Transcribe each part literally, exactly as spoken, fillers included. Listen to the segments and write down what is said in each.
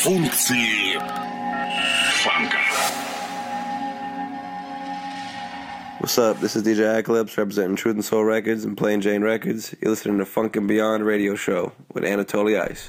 Функции фанка. What's up? This is D J Eclipse representing Truth and Soul Records and Plain Jane Records. You're listening to Funk and Beyond Radio Show with Anatoly Ice.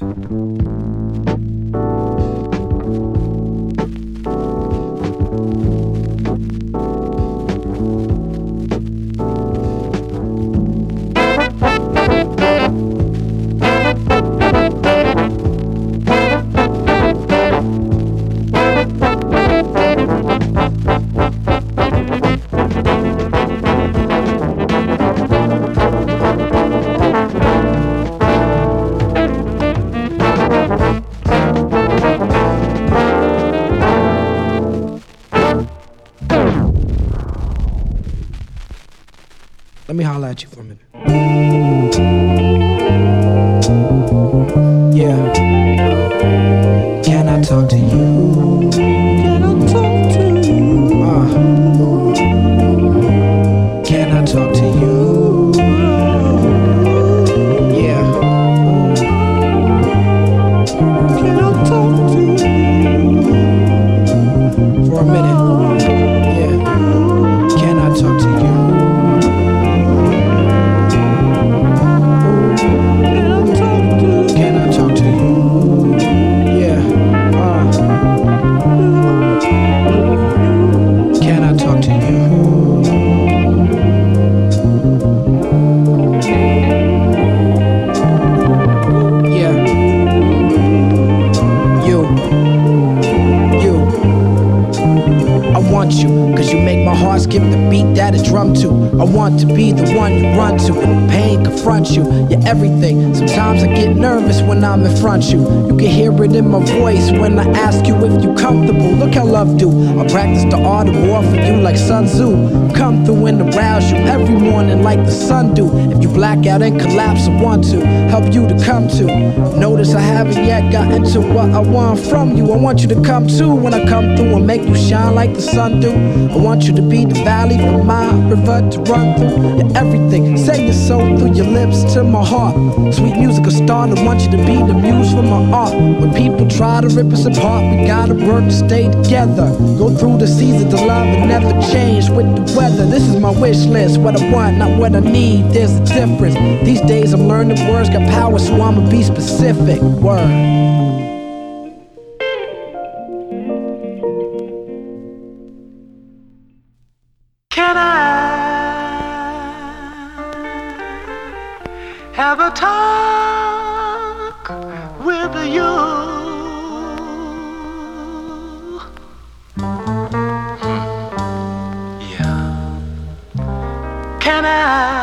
Let me holler at you for a minute. Yeah. Can I talk to you? Can I talk to you? Uh. Can I talk to you? Yeah. Can I talk to you? For a minute. Yeah. Can I talk to you? Skip the beat that it drum to. I want to be the one you run to when pain confronts you. You're everything. Sometimes I get nervous when I'm in front of you. You can hear it in my voice when I ask you if you comfortable. Look how love do. I practice the art of war for you like Sun Tzu. Come through and arouse you every morning like the sun do. If you black out and collapse, I want to help you to come to. Notice I haven't yet gotten to what I want from you. I want you to come too when I come through and make you shine like the sun do. I want you to be the valley for my river to run through. You're everything. Say your soul through your lips to my heart. Sweet music, a start. I want you to be the muse for my art. When people try to rip us apart, we gotta work to stay together. Go through the seasons of love and never change with the weather. This is my wish list. What I want, not what I need. There's a difference. These days I'm learning words got power, so I'ma be specific. Word. Can I have a talk with you? Hmm. Yeah. Can I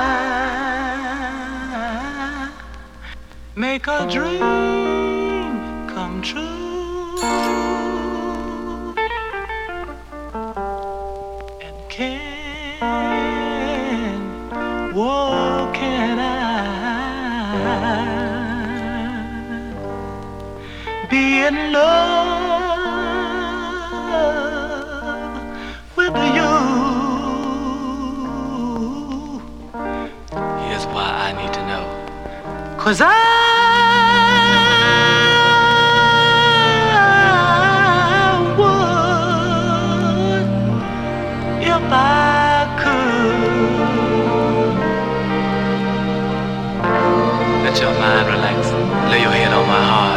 make a dream come true? And can What can I be in love with you? Here's why I need to know. 'Cause I would if I let your mind relax. Lay your head on my heart.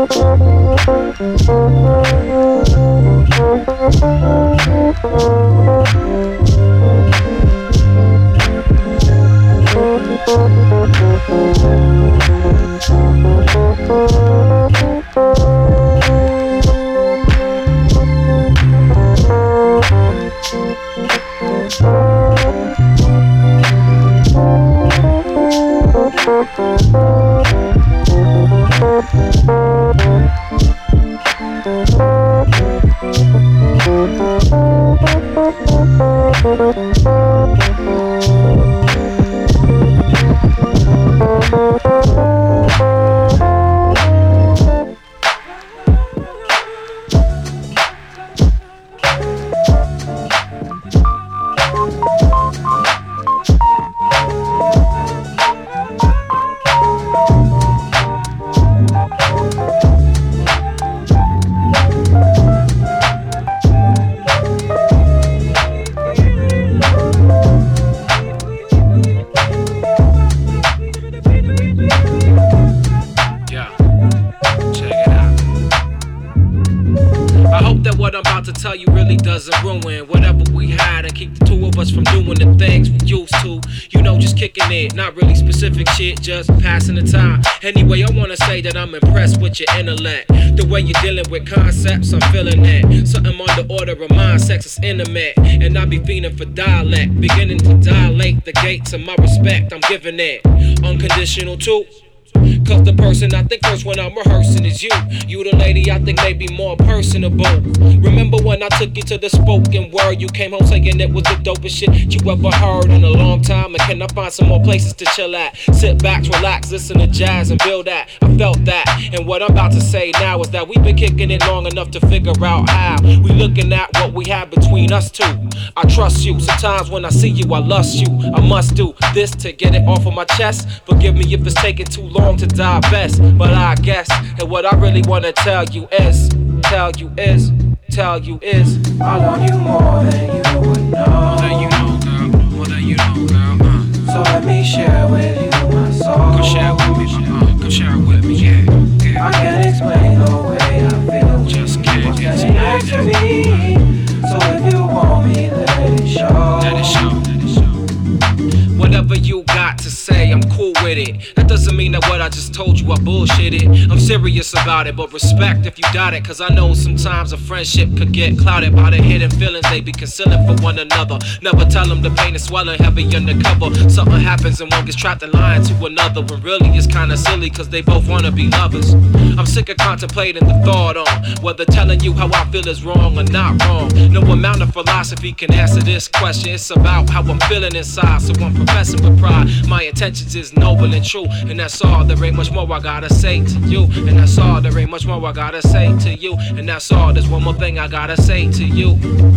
Not really specific shit, just passing the time. Anyway, I wanna say that I'm impressed with your intellect. The way you're dealing with concepts, I'm feeling that. Something on the order of mind, sex is intimate. And I be feeling for dialect, beginning to dilate the gates of my respect. I'm giving it unconditional too. Cause the person I think first when I'm rehearsing is you. You the lady I think may be more personable. Remember when I took you to the spoken word? You came home saying it was the dopest shit you ever heard in a long time. And can I find some more places to chill at? Sit back, relax, listen to jazz and build that. I felt that. And what I'm about to say now is that we've been kicking it long enough to figure out how. We looking at what we have between us two. I trust you. Sometimes when I see you, I lust you. I must do this to get it off of my chest. Forgive me if it's taking too long to divest, but I guess and what I really wanna tell you is, tell you is, tell you is, I want you more than you would know. More than you know, girl. More than you know, girl. Uh. So let me share with you my soul. Come share with me, uh, come share with me, yeah, yeah. I can't explain the way I feel. Just can't explain next to me. So if you want me, let it show. Let it show. Let it show. Whatever you got to say, I'm cool with it. That doesn't mean that what I just told you I bullshitted. I'm serious about it, but respect if you doubt it. Cause I know sometimes a friendship could get clouded by the hidden feelings they be concealing for one another. Never tell them the pain is swelling heavy undercover. Something happens and one gets trapped in lying to another. When really it's kinda silly cause they both wanna be lovers. I'm sick of contemplating the thought on whether telling you how I feel is wrong or not wrong. No amount of philosophy can answer this question. It's about how I'm feeling inside, so I'm professing with pride. My intentions is noble and true, and that's all. There ain't much more I gotta say to you, and that's all. There ain't much more I gotta say to you, and that's all. There's one more thing I gotta say to you.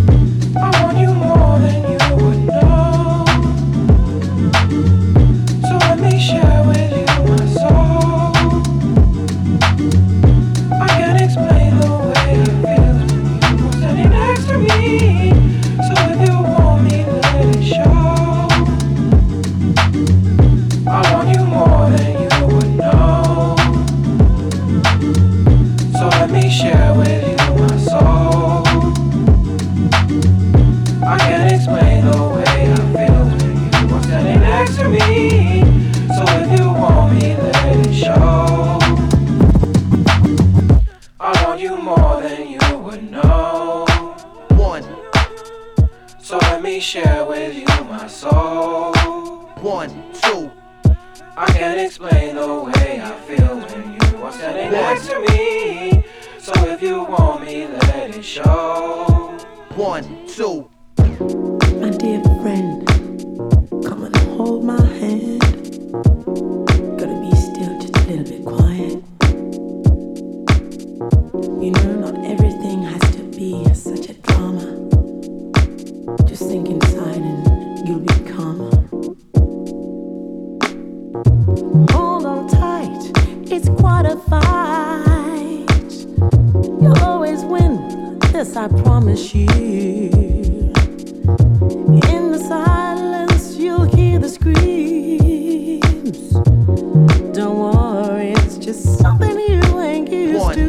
I want you more than you would know. So let me share with you my soul. I can't explain the way I feel when you're standing next to me. So if you want me, let it show. I want you more than you would know. So let me share with you my soul. I can't explain the way I feel when you are standing next to me. So if you want me, let it show. I want you more than you would know. One. So let me share with you my soul. One, two. I can't explain the way I feel when you are standing next to me. So if you want me, let it show. One, two. My dear friend, come and hold my hand. Gotta be still, just a little bit quiet. You know, not everything has to be such a drama. Just think inside and you'll be calmer. Hold on tight, it's quite a fight. You'll always win, this I promise you. In the silence, you'll hear the screams. Don't worry, it's just something you ain't used One, to.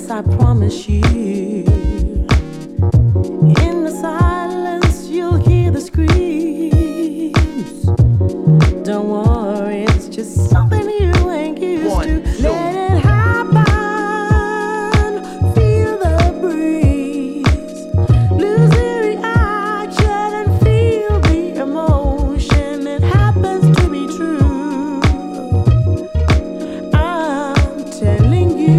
this I promise you. In the silence you'll hear the screams. Don't worry, it's just something you ain't used One, to. two. Let it happen, feel the breeze. Lose the reaction and feel the emotion. It happens to be true. I'm telling you.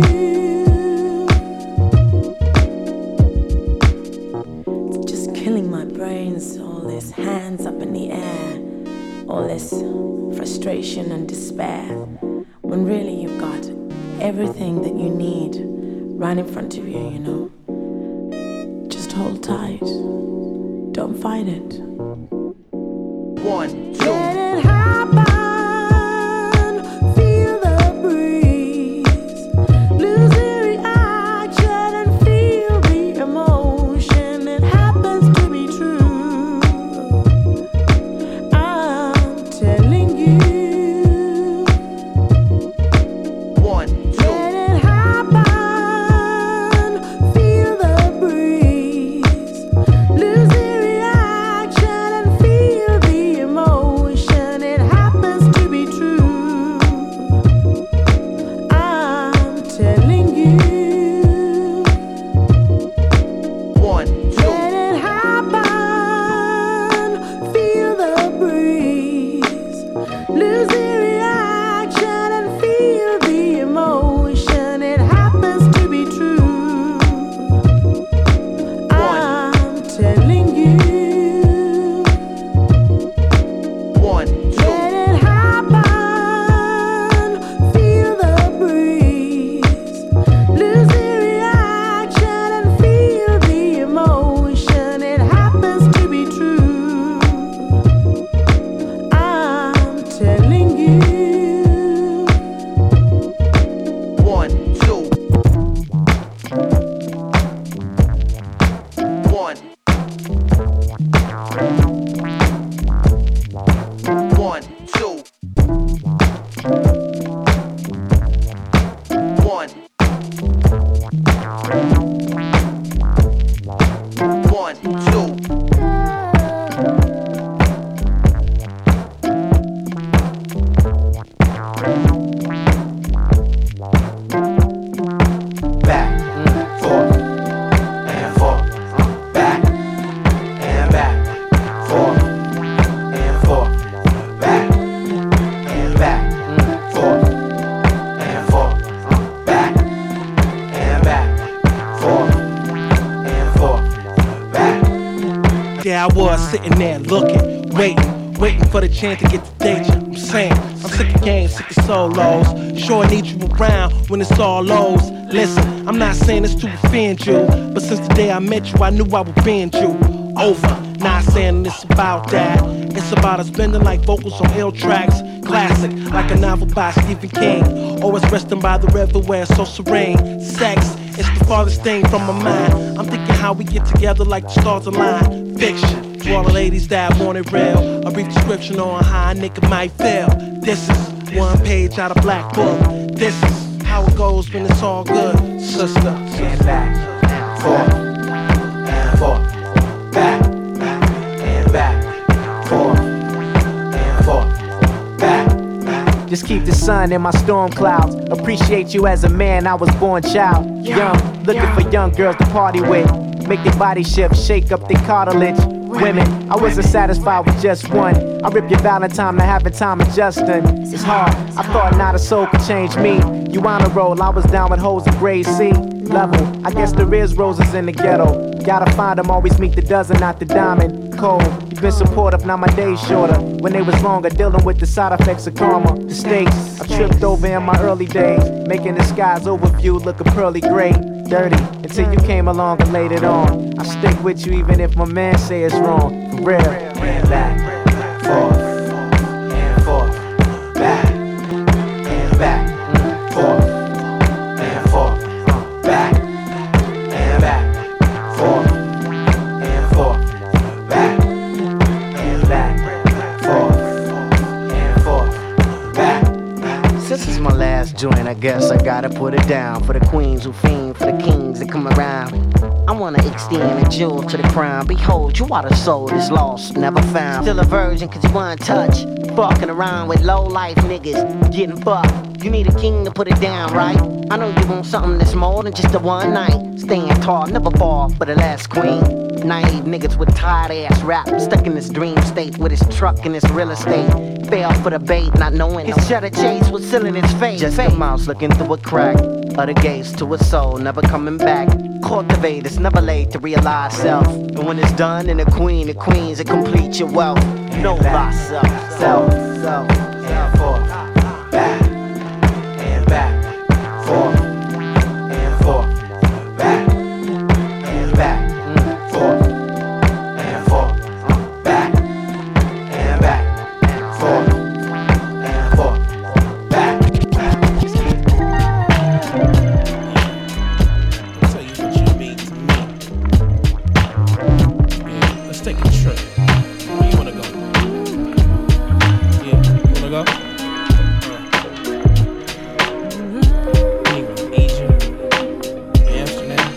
It's just killing my brains, all this hands up in the air, all this frustration and despair, when really you've got everything that you need right in front of you, you know. Just hold tight. Don't fight it. One, two. Let it happen. Feel the breeze. Lose the reaction and feel the emotion. It happens to be true. I'm telling you. One, two. Let it happen. Feel the breeze. Lose the reaction and feel the emotion. It happens to be true. I'm telling you. One, two. Let it happen. Feel the breeze. Lose the reaction and feel the emotion. It happens to be true. I'm telling you. One, two. Let it happen. Feel the breeze. Lose the reaction and feel the emotion. It happens to be true. I'm telling you. One, two. One. One, two. One. One, two. Back, forth, and forth. Back, and back, forth, and forth. Back, and back, forth, and forth. Back, and back, forth, and forth. Back. There I was sitting there looking, waiting, waiting for the chance to get the danger. I'm saying, I'm sick of games, sick of solos. Sure I need you around when it's all lows. Listen, I'm not saying this to offend you, but since the day I met you, I knew I would bend you over. Not saying it's about that. It's about us bending like vocals on ill tracks. Classic, like a novel by Stephen King. Always resting by the river where it's so serene. Sex, it's the farthest thing from my mind. I'm thinking how we get together like the stars align. Fiction, to all the ladies that want it real. A brief description on how a nigga might feel. This is one page out of Black Book. This is how it goes when it's all good, sister. And back, forth, and forth. Back, and back, forth, and forth. Back. Just keep the sun in my storm clouds. Appreciate you as a man, I was born child. Young, looking for young girls to party with. Make their body shift, shake up their cartilage. Women, I wasn't satisfied with just one. I rip your Valentine to have a time adjusting. It's hard, I thought not a soul could change me. You on a roll, I was down with hoes in grade C level. I guess there is roses in the ghetto. Gotta find them, always meet the dozen, not the diamond. Cold, you've been supportive, now my days shorter. When they was longer, dealing with the side effects of karma. The stakes, I tripped over in my early days, making the sky's overview look a pearly gray. Dirty, until you came along and laid it on. I stick with you even if my man say it's wrong. For real. And back, forth, and forth. Back, and back, forth, and forth. Back, and back, forth, and forth. Back, and back, forth, and forth. Back. Since it's my last joint, I guess I gotta put it down. For the queens who fiend, for the kings that come around. I wanna extend a jewel to the crown. Behold, you are the soul that's lost, never found. Still a virgin cause you want touch. Fucking around with low life niggas, getting fucked. You need a king to put it down, right? I know you want something that's more than just a one night. Staying tall, never fall for the last queen. Naive niggas with tired ass rap, stuck in this dream state with his truck and his real estate. Fell for the bait, not knowing his cheddar chase was still in his face. Just a mouse looking through a crack of the gates to a soul, never coming back. Cultivate, it's never late to realize self. And when it's done, and the queen of queens, it completes your wealth. Know thyself, self, self, and forth, back, and back, forth, and forth, back, and back, forth, and forth, back, and back, forth, and forth, back. I'll tell you what you mean to me. Yeah, let's take a trip. Where you wanna go? Yeah, you wanna go? Uh. Anyway, Egypt, Amsterdam.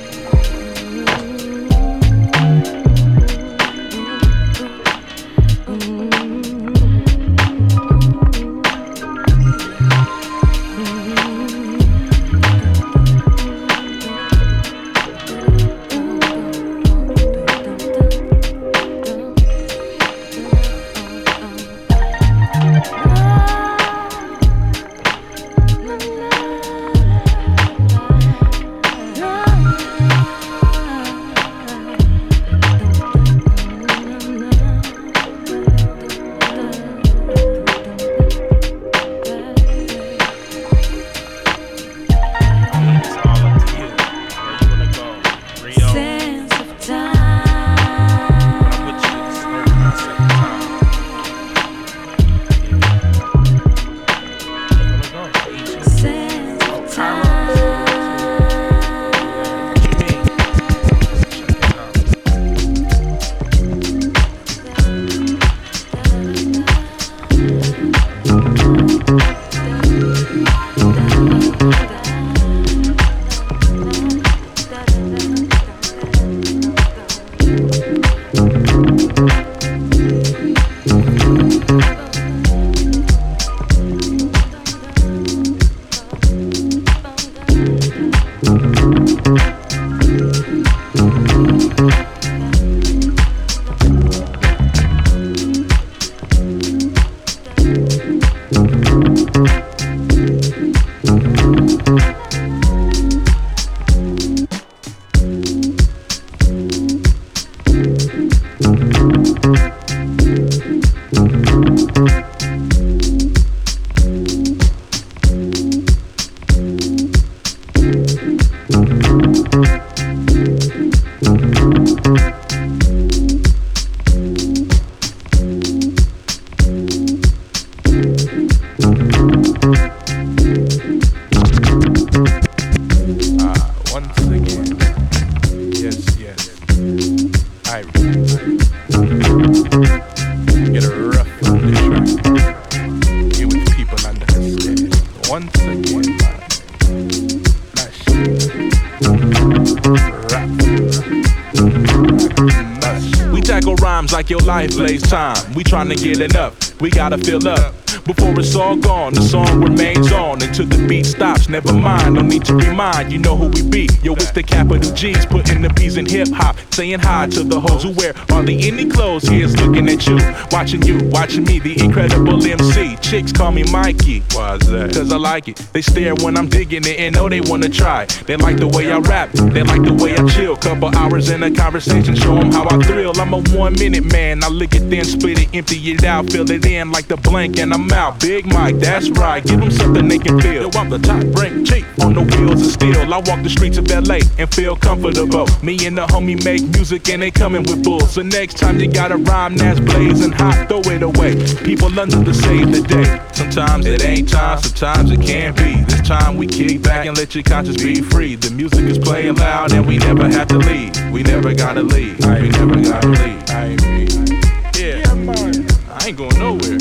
Like your life lays time, we tryna get enough, we gotta fill up. Before it's all gone, the song remains on until the beat stops. Never mind, no need to remind, you know who we be. Yo, it's the capital G's, putting the P's in hip-hop. Saying hi to the hoes who wear hardly any clothes. Here's looking at you, watching you, watching me, the incredible M C. Chicks call me Mikey, why's that? Cause I like it. They stare when I'm digging it and know they wanna try. They like the way I rap, they like the way I chill. Couple hours in a conversation, show them how I thrill. I'm a one minute man, I lick it then split it, empty it out, fill it in like the blank and I'm out. Big Mike, that's right, give them something they can feel. Yo, I'm the top rank chief on the wheels of steel. I walk the streets of L A and feel comfortable. Me and the homie make music and they coming with bulls. So next time you got a rhyme that's blazing hot, throw it away. People London to save the day. Sometimes it ain't time, sometimes it can be. This time we kick back and let your conscience be free. The music is playing loud and we never have to leave. We never gotta leave, we never gotta leave. I ain't me. Yeah, I ain't going nowhere.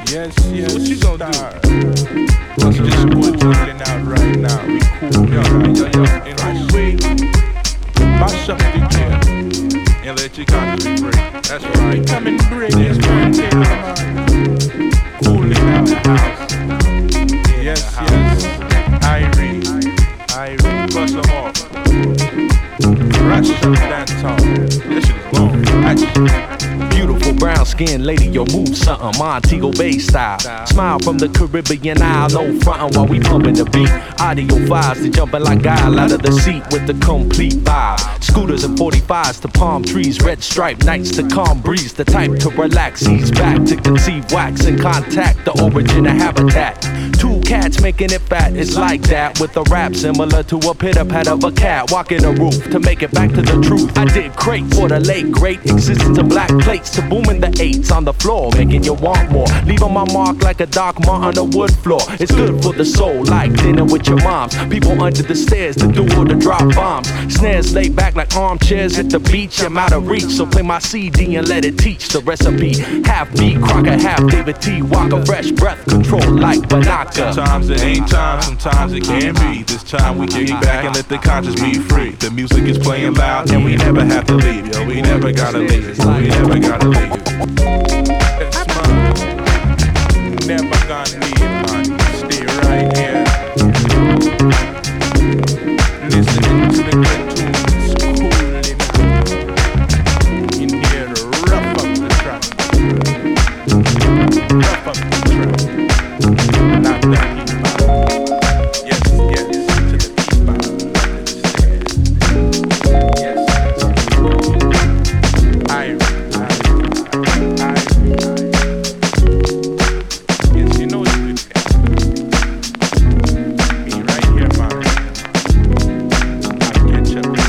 Yes, yes. So what you gonna do? I'm just putting out right now. We cool, yo, yo, yo. And I way, mash up the gear and let your conscience be free. That's right. Come and bring this one to man. Cooling out the house. Yes, yes. Irene, Irene, bust them off. Rush up dance hall. That shit is long. Action. Beautiful brown skinned lady, your move something Montego Bay style. Smile from the Caribbean Isle, no frontin' while we pumping the beat. Audio fives to jumping like guile out of the seat with the complete vibe. Scooters and forty-fives to palm trees, red stripe nights to calm breeze. The type to relax, ease back to conceive wax and contact the origin of habitat. Two cats making it fat, it's like that. With a rap similar to a pitter pat of a cat walking a roof to make it back to the truth. I did crate for the late great existence of black plates to booming the eights on the floor, making you want more. Leaving my mark like a dark mark on the wood floor. It's good for the soul, like dinner with your moms. People under the stairs to do all the drop bombs. Snares laid back like armchairs at the beach. I'm out of reach, so play my C D and let it teach the recipe. Half beat Crocker, half David T. Walker, fresh breath control like Banaka. Sometimes it ain't time, sometimes it can be. This time we kick back and let the conscience be free. The music is playing loud and we never have to leave. Yo, we never gotta leave. We never gotta leave. That's mine. Never gonna leave, man. Stay right here. Listening to the good tunes, cooling out. In here to rough up the track. Rough up the track. Not that heat vibe. Yes, yes, to the heat vibe. Yes. I, I, I. Yes, you know it's good. Me right here, man. I'll catch up.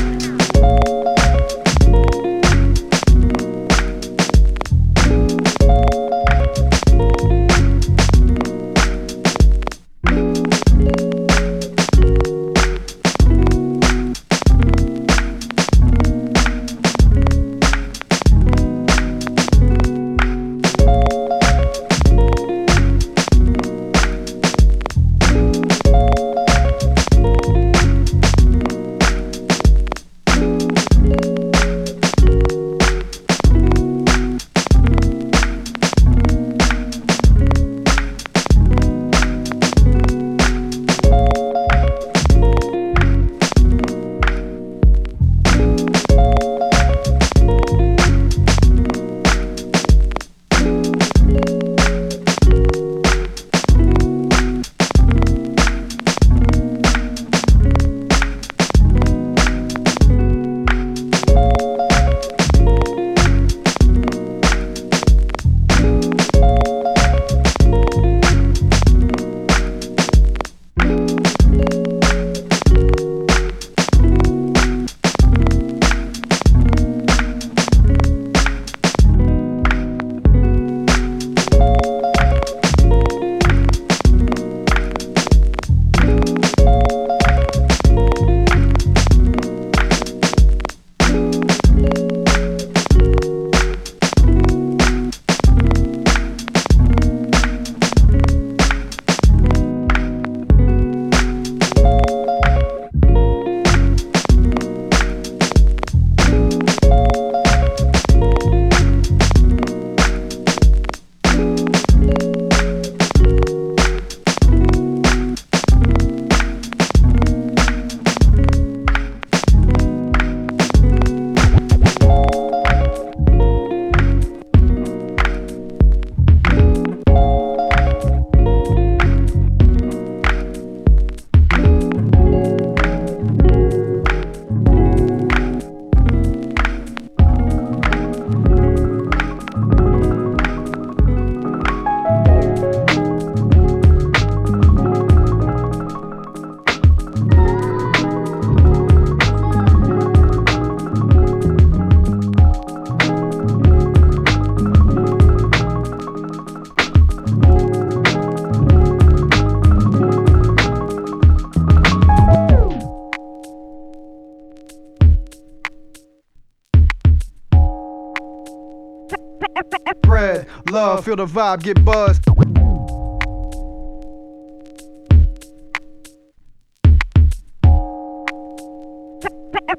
Bread, love, feel the vibe, get buzzed.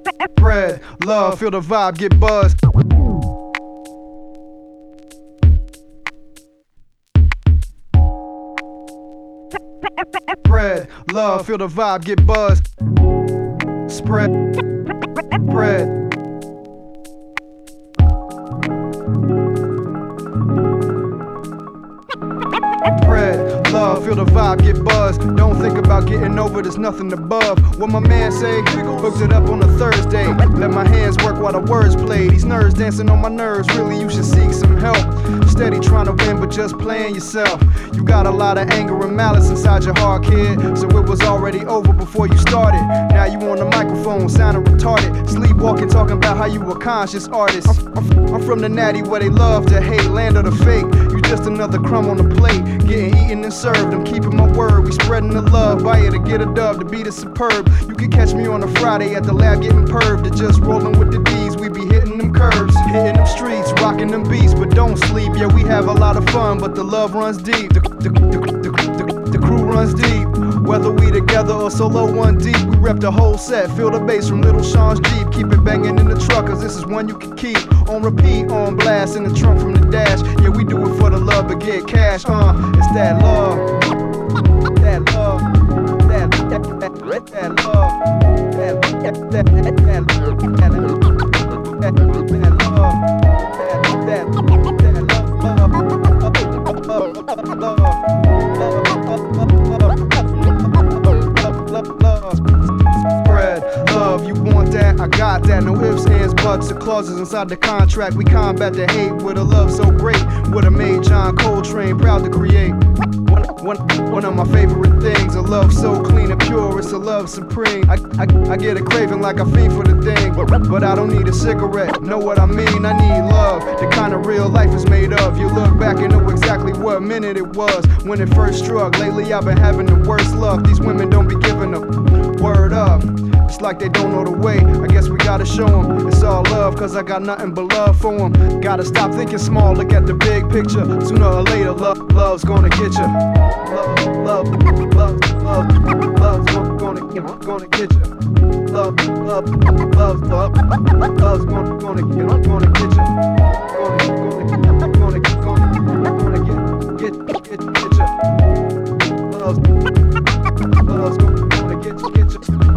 Spread love, feel the vibe, get buzzed. Spread love, feel the vibe, get buzzed. Spread, spread. Spread love, feel the vibe, get buzzed. Don't think about getting over, there's nothing above. What my man say, hooked it up on a Thursday. Let my hands work while the words play. These nerves dancing on my nerves, really you should seek some help. Steady trying to win, but just playing yourself. You got a lot of anger and malice inside your heart, kid. So it was already over before you started. Now you on the microphone, sounding retarded. Sleepwalking, talking about how you a conscious artist. I'm, I'm, I'm from the natty where they love to hate, land of the fake. You just another crumb on the plate, getting eaten and served. I'm keeping my word, we spreading the love. Buy it to get a dub, the beat is superb. You can catch me on a Friday at the lab getting perved. Or just rolling with the D's, we be hitting them curves. Hitting them streets, rocking them beats, but don't sleep. Yeah, we have a lot of fun, but the love runs deep. The, the, the, the, the, the crew runs deep. Whether we together or solo one deep, we rep the whole set. Feel the bass from Little Sean's Jeep. Keep it banging in the truck, cause this is one you can keep. On repeat, on blast, in the trunk from the dash. Yeah, we do it for the love, but get cash, uh, it's that love. That love. That, that, that, that love. That, that, that, that, that, that, that love. That, Spread love, you want that? I got that. No ifs, ands, buts, or clauses inside the contract. We combat the hate with a love so great. Would have made John Coltrane proud to create. One, one, one of my favorite things, a love so clean and pure, it's a love supreme. I, I, I get a craving like a fiend for the thing, but I don't need a cigarette, know what I mean? I need love, the kind of real life is made of. You look back and know exactly what minute it was when it first struck. Lately I've been having the worst luck, these women don't be giving a word up. It's like they don't know the way, I guess we gotta show them. It's all love, cause I got nothing but love for them. Gotta stop thinking small, look at the big picture. Sooner or later, love, love's gonna get you. Love, love, love, love, love's gonna, gonna get you. Love, love, love, love, love's gonna, gonna, gonna get you. Gonna, gonna, gonna, gonna, gonna get, get, get, get you. Love's, love's gonna get you, get you, get you.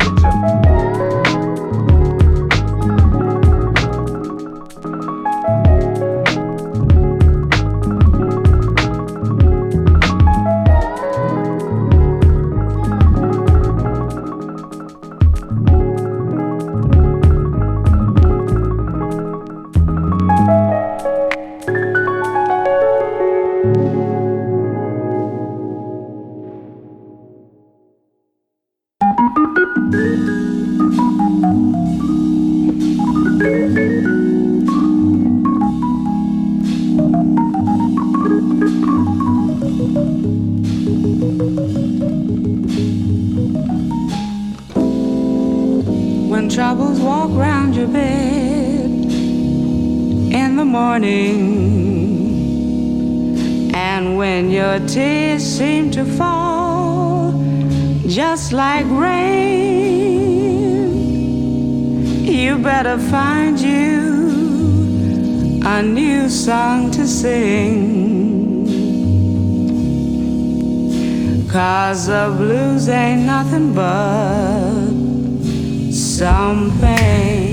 When troubles walk round your bed in the morning, and when your tears seem to fall just like rain, you better find you a new song to sing, 'cause the blues ain't nothing but some pain.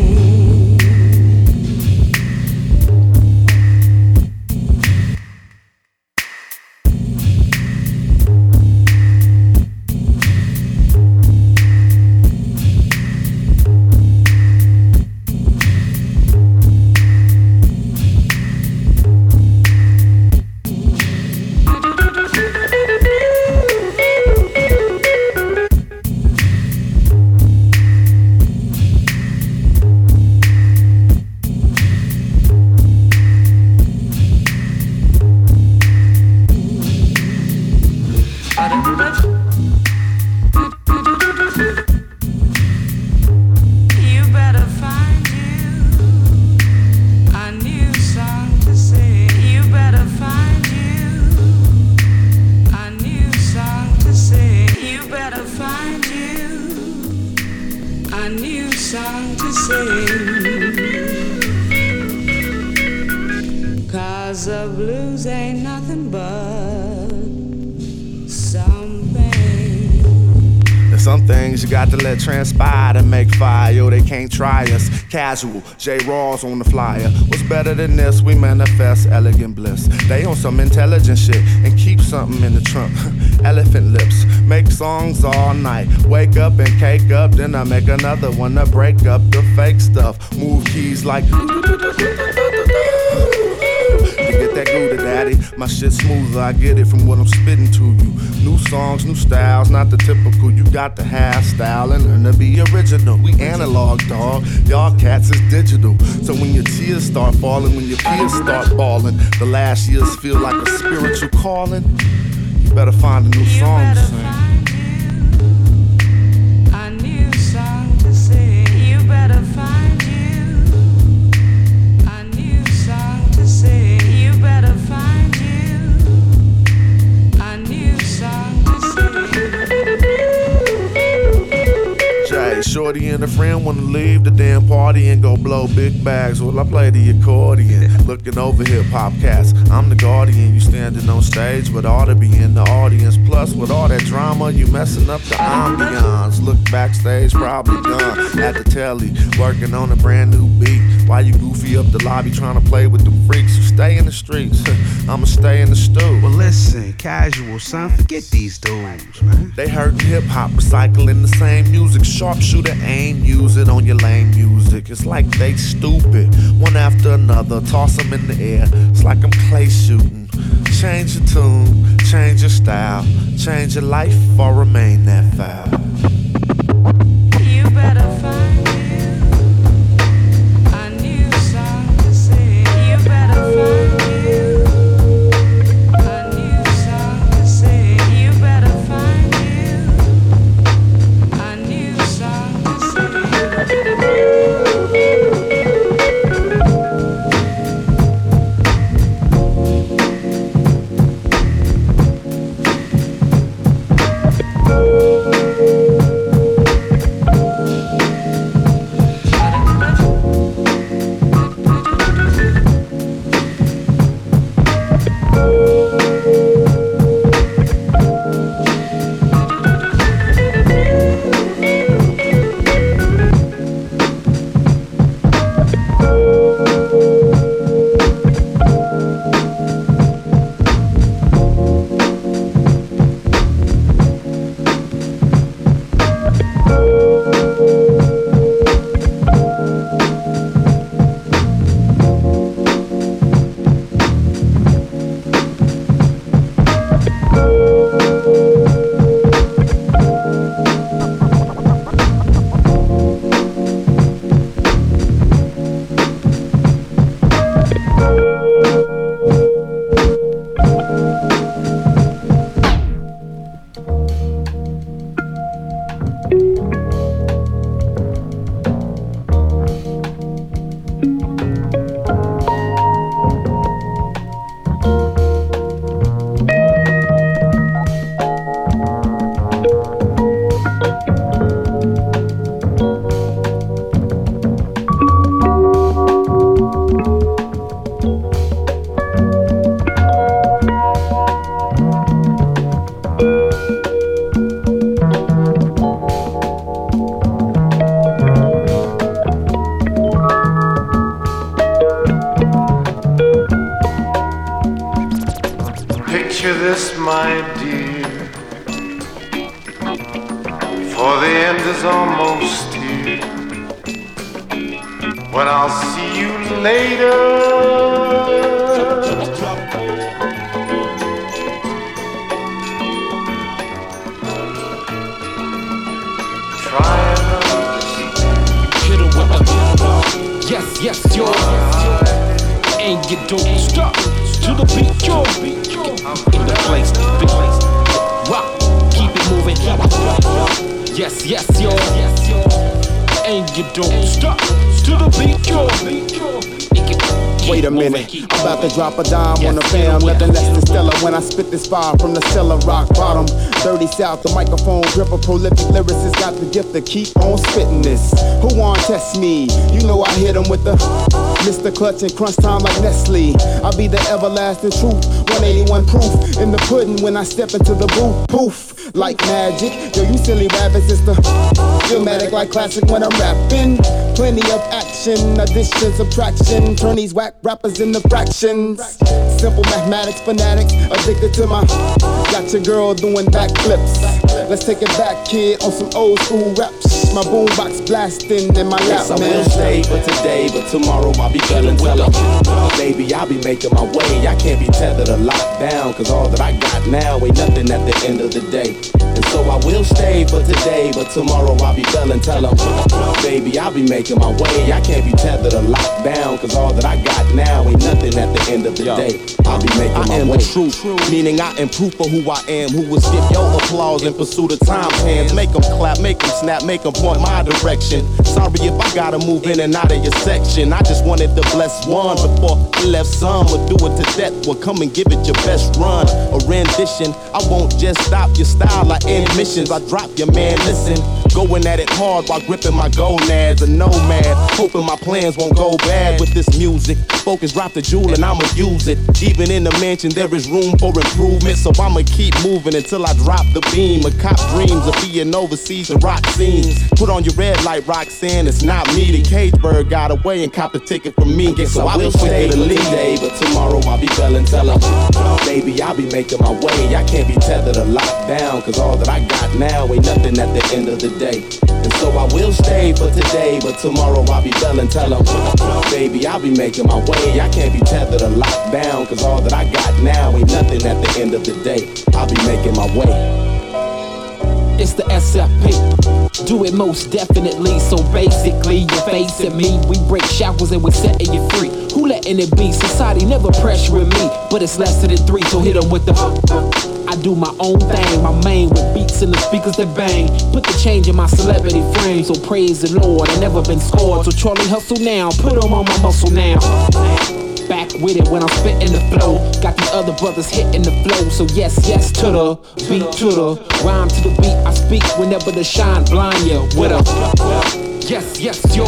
Some things you got to let transpire to make fire. Yo, they can't try us. Casual, J. Rawls on the flyer. What's better than this? We manifest elegant bliss. They on some intelligent shit and keep something in the trunk. Elephant lips, make songs all night. Wake up and cake up, then I make another one to break up the fake stuff. Move keys like get that Gouda daddy. My shit smoother, I get it from what I'm spitting to you. New songs, new styles, not the typical. You got to have style and learn to be original. We analog, dog. Y'all cats is digital. So when your tears start falling, when your peers start balling, the last years feel like a spiritual calling. You better find a new song to sing. A new song to sing. You better find you a new song to sing. You better find you a new song to sing. Jay, shorty and a friend wanna leave the damn party and go blow big bags. Well, I play the accordion, looking over hip hop cats. I'm the guardian, you standing on stage, but ought to be in the audience. Plus, with all that drama, you messing up the ambiance. Look backstage, probably gone at the telly, working on a brand new beat. Why you goofy up the lobby trying to play with them freaks? You stay in the streets, I'ma stay in the stew. Well, listen, casual, son, forget these dudes, man. They hurtin' hip hop, recycling the same music. Sharpshooter aim, use it on your lame music. It's like they stupid, one after another, toss them in the air. It's like I'm clay shooting. Change your tune, change your style, change your life or remain that foul. You better find you a new song to sing. You better find you a new song to sing. You better find you a new song to Picture this, my dear, for the end is almost here. When I'll see you later, try Hit her with a yes, yes, yo. And you don't stop to the beat, yo. In the place, big place. Rock, keep it moving. Yes, yes, yo. And you don't stop to the beat, yo. Wait a minute, I'm about to drop a dime on the fam. Nothing less than stellar when I spit this fire from the cellar rock bottom. thirty South, the microphone gripper, prolific lyricist, got the gift to keep on spitting this. Who want test me? You know I hit 'em with the Mister Clutch and crunch time like Nestle. I'll be the everlasting truth, one eighty-one proof in the pudding when I step into the booth. Poof, like magic. Yo, you silly rabbits, it's the dramatic like classic when I'm rapping. Plenty of action, addition, subtraction. Turn these whack rappers into fractions. Simple mathematics, fanatics, addicted to my. Got your girl doing backflips. Let's take it back, kid, on some old school raps. My boombox blasting in my lap, yes, I man. will stay for today, but tomorrow I'll be feeling tell 'em. Baby, I'll be making my way. I can't be tethered or locked down, cause all that I got now ain't nothing at the end of the day. And so I will stay for today, but tomorrow I'll be feeling tell 'em. Baby, I'll be making my way. I can't be tethered or locked down, cause all that I got now ain't nothing at the end of the day. I'll be making I my am way. the truth, meaning I am proof of who I am. Who will skip your applause in pursuit of time's hands? Make them clap, make them snap, make them point my direction. Sorry if I gotta move in and out of your section. I just wanted to bless one before I left some. Or do it to death, well come and give it your best run. A rendition, I won't just stop your style, I end missions. I drop your man, listen. Going at it hard while gripping my gonads. A nomad, hoping my plans won't go bad with this music. Focus, drop the jewel and I'ma use it. Even in the mansion there is room for improvement, so I'ma keep moving until I drop the beam. A cop dreams of being overseas and rock scenes. Put on your red light, Roxanne, it's not me. The cage bird got away and copped a ticket from me. Guess So I I will be stay quicker to leave. today, but tomorrow I'll be feeling tell 'em. Baby, I'll be making my way. I can't be tethered or locked down, cause all that I got now ain't nothing at the end of the day. And so I will stay for today, but tomorrow I'll be feeling tell 'em. Baby, I'll be making my way. I can't be tethered or locked down, cause all that I got now ain't nothing at the end of the day. I'll be making my way. It's the S F P. Do it most definitely. So basically, you're facing me. We break shackles and we're setting you free. Who letting it be? Society never pressuring me, but it's less than three. So hit 'em with the. I do my own thing. My main with beats and the speakers that bang. Put the change in my celebrity frame. So praise the Lord. I never been scored. So Charlie hustle now. Put 'em on my muscle now. Back with it when I'm spitting the flow. Got these other brothers hitting the flow. So yes, yes to the beat, to the rhyme, to the beat. I speak whenever the shine blind you with a yes, yes, yo.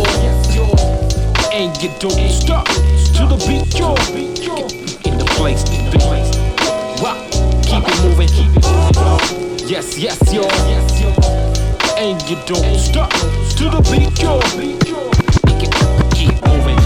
And you don't stop to the beat, yo. In the place, in the place. Wow, keep it moving, keep it moving. Yes, yes, yo. And you don't stop to the beat, yo. Keep moving.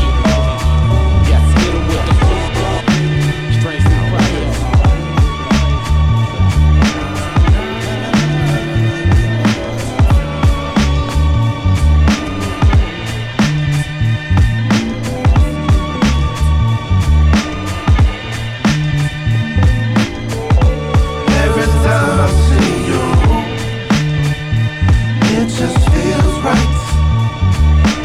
It just feels right.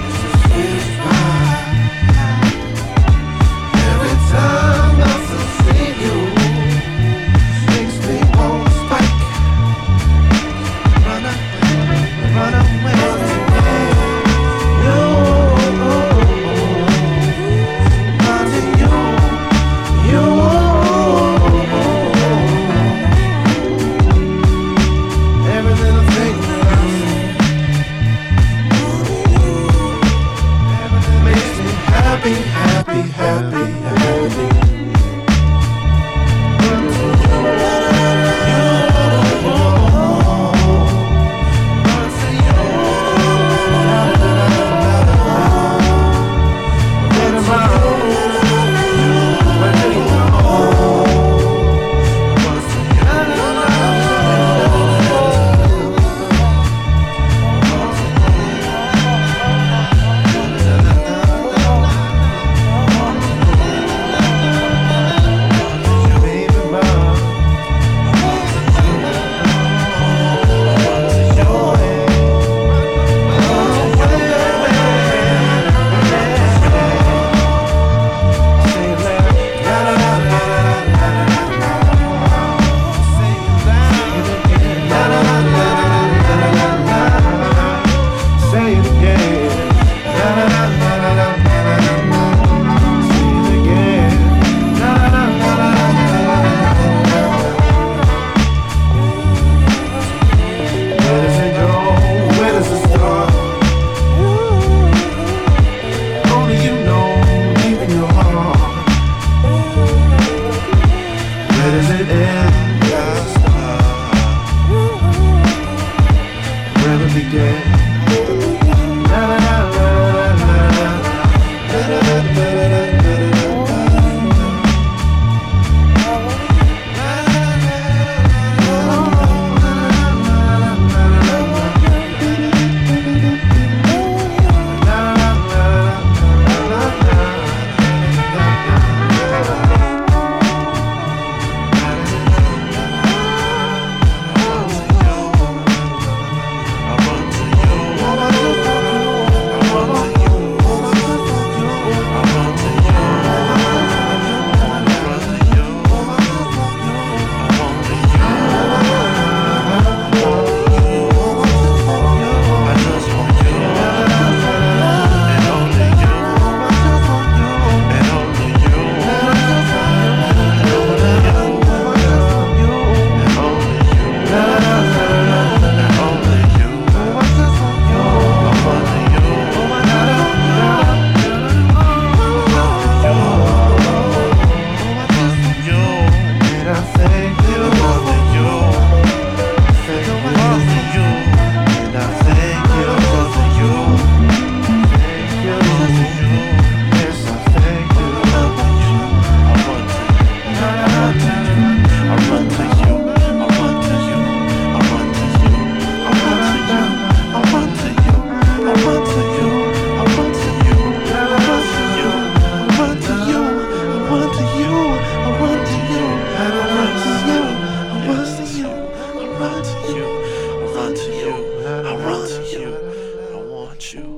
run to you, I run to you, I run to you, I want you.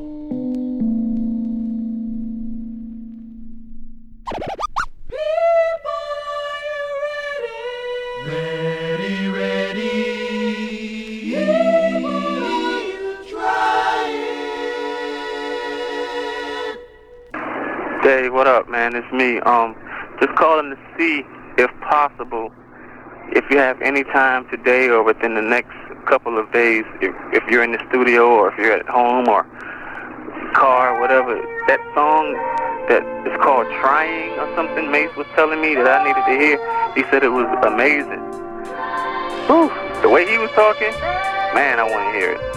Ready, ready. Dave, what up, man? It's me. Um, just calling to see, if possible, if you have any time today or within the next couple of days, if, if you're in the studio or if you're at home or car, whatever, that song that is called Trying or something, Mace was telling me that I needed to hear. He said it was amazing. Whew, the way he was talking, man, I want to hear it.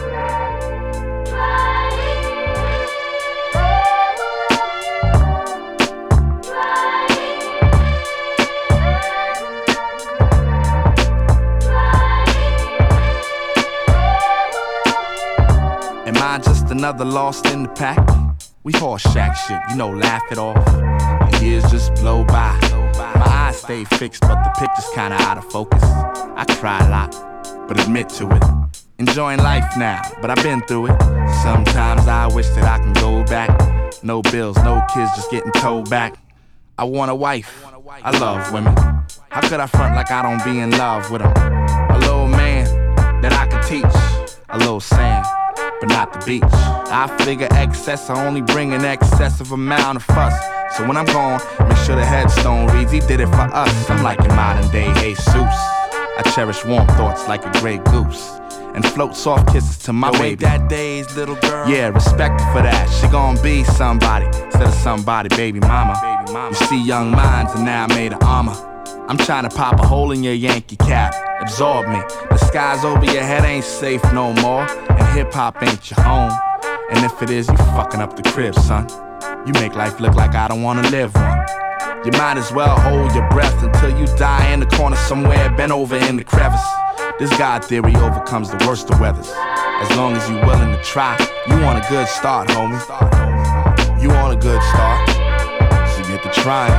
Am I just another lost in the pack? We horse shack shit, you know, laugh it off. The years just blow by. My eyes stay fixed, but the picture's kinda out of focus. I cry a lot, but admit to it. Enjoying life now, but I've been through it. Sometimes I wish that I can go back. No bills, no kids, just getting towed back. I want a wife, I love women. How could I front like I don't be in love with them? A little man that I can teach. A little sand, but not the beach. I figure excess, I only bring an excessive amount of fuss. So when I'm gone, make sure the headstone reads, he did it for us. I'm like a modern day Jesus. I cherish warm thoughts like a gray goose, and float soft kisses to my Yo, baby. That day's little girl. Yeah, respect her for that. She gon' be somebody instead of somebody, baby mama. baby mama. You see young minds and now I made of armor. I'm trying to pop a hole in your Yankee cap, absorb me. The skies over your head ain't safe no more, and hip-hop ain't your home. And if it is, you fucking up the crib, son. You make life look like I don't wanna live one. You might as well hold your breath until you die in the corner somewhere, bent over in the crevice. This God theory overcomes the worst of weathers. As long as you willing to try, you want a good start, homie. You want a good start, so get to trying.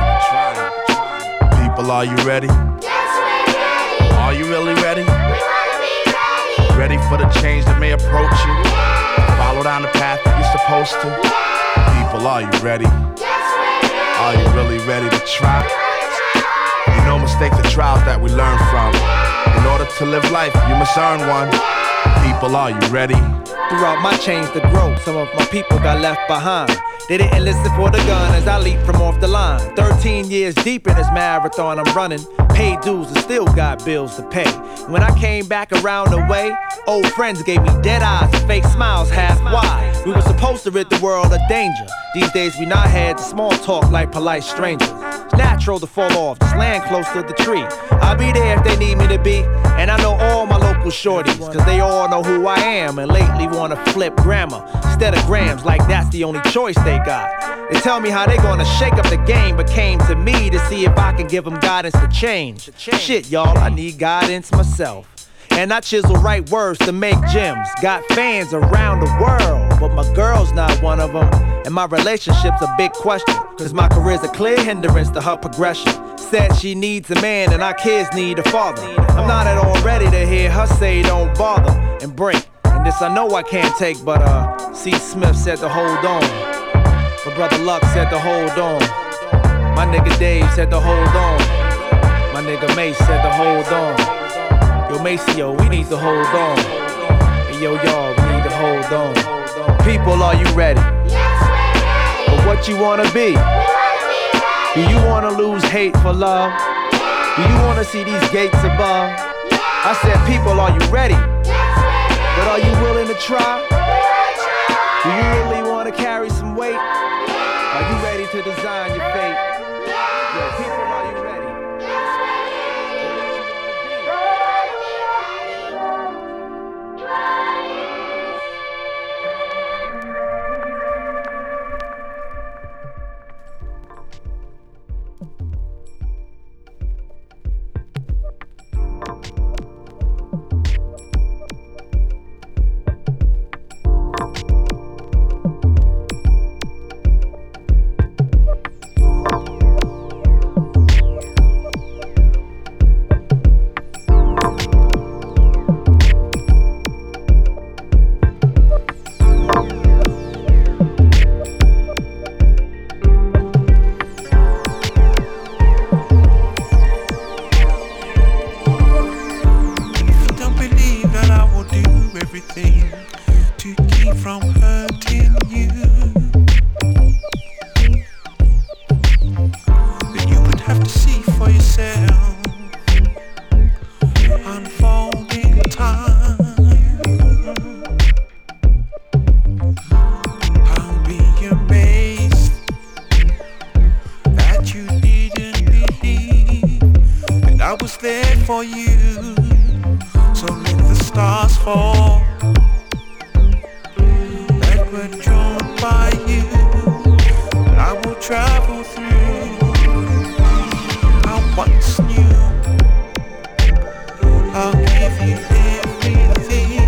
People, are you ready? Yes, we're ready. Are you really ready? We wanna be ready. Ready for the change that may approach you? Yeah. Follow down the path that you're supposed to. Yeah. People, are you ready? Yes, we're ready. Are you really ready to try? We wanna try. You know mistakes are trials that we learn from. In order to live life, you must earn one. People, are you ready? Throughout my change to grow, some of my people got left behind. They didn't listen for the gun as I leap from off the line. Thirteen years deep in this marathon I'm running. Paid dues and still got bills to pay. When I came back around the way, old friends gave me dead eyes and fake smiles half wide. We were supposed to rid the world of danger. These days we not had the small talk like polite strangers. It's natural to fall off, just land close to the tree. I'll be there if they need me to be. And I know all my local shorties, cause they all know who I am and lately wanna flip grammar instead of grams like that's the only choice they got. They tell me how they gonna shake up the game, but came to me to see if I can give them guidance to change. Shit, y'all, I need guidance myself. And I chisel right words to make gems. Got fans around the world, but my girl's not one of them. And my relationship's a big question, cause my career's a clear hindrance to her progression. Said she needs a man and our kids need a father. I'm not at all ready to hear her say don't bother and break. And this I know I can't take, but uh, C. Smith said to hold on. My brother Luck said to hold on. My nigga Dave said to hold on. My nigga Mace said to hold on. Yo, Maceo, we need to hold on. And yo, y'all, we need to hold on. People, are you ready? Yes, we're ready. But what you wanna be? We wanna be ready. Do you wanna lose hate for love? Yeah. Do you wanna see these gates above? Yeah. I said, people, are you ready? Yes, we're ready. But are you willing to try? We wanna try. Do you really wanna carry some weight? Yeah. Are you ready to design your fate? Yeah. Yo, people, are you ready? Yes, we're ready. We wanna be ready. Try. everything to keep from hurting you. But you would have to see for yourself. Unfolding time. I'll be amazed that you didn't believe that I was there for you. So let the stars fall that were drawn by you. I will travel through our once new. I'll give you everything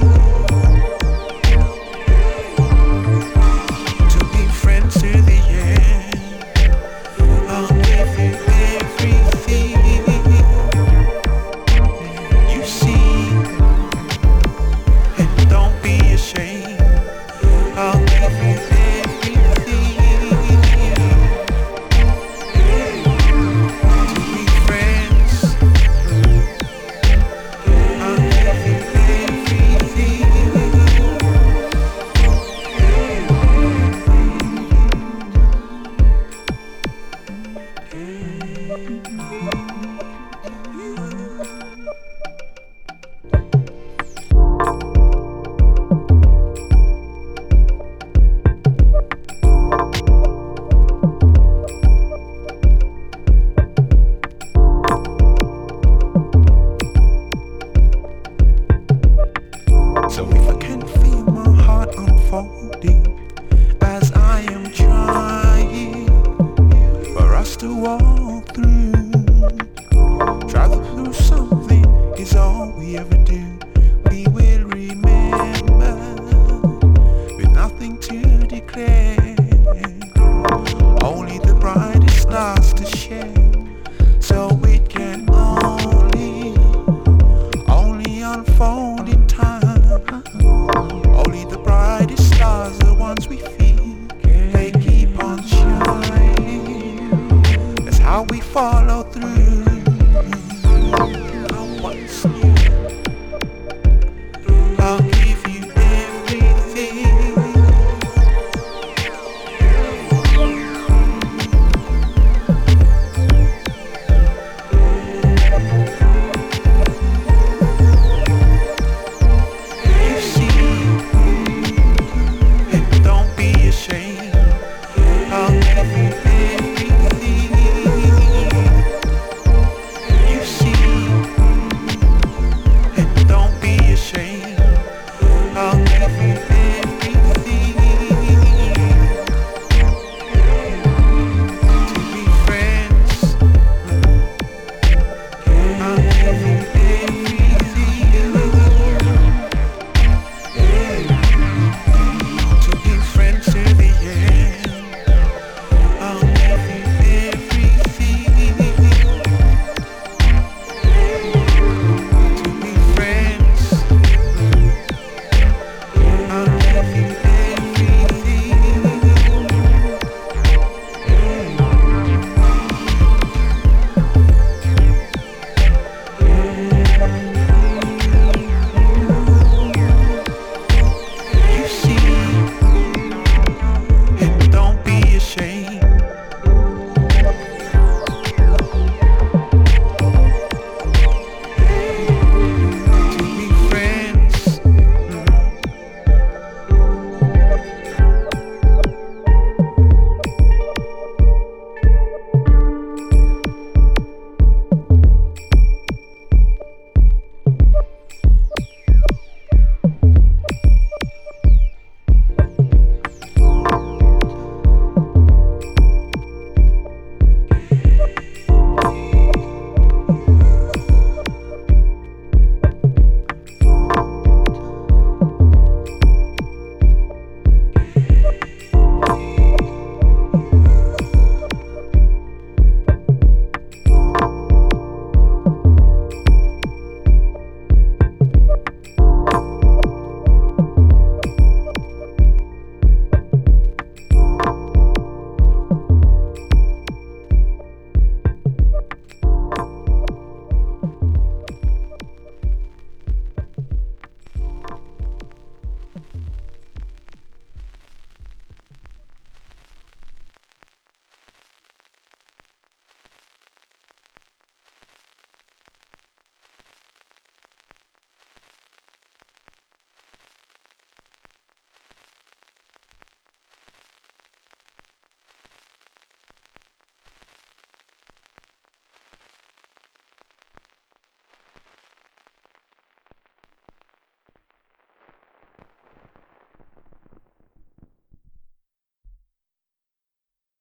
to be friends to the end. I'll give you everything you see, and don't be ashamed. I'll give you everything to be friends. I'll give you everything. So if I can feel my heart unfolding as I am trying for us to walk through, travel through something is all we ever do. We will remember with nothing to declare, only the brightest stars to share. So it can only, only unfold.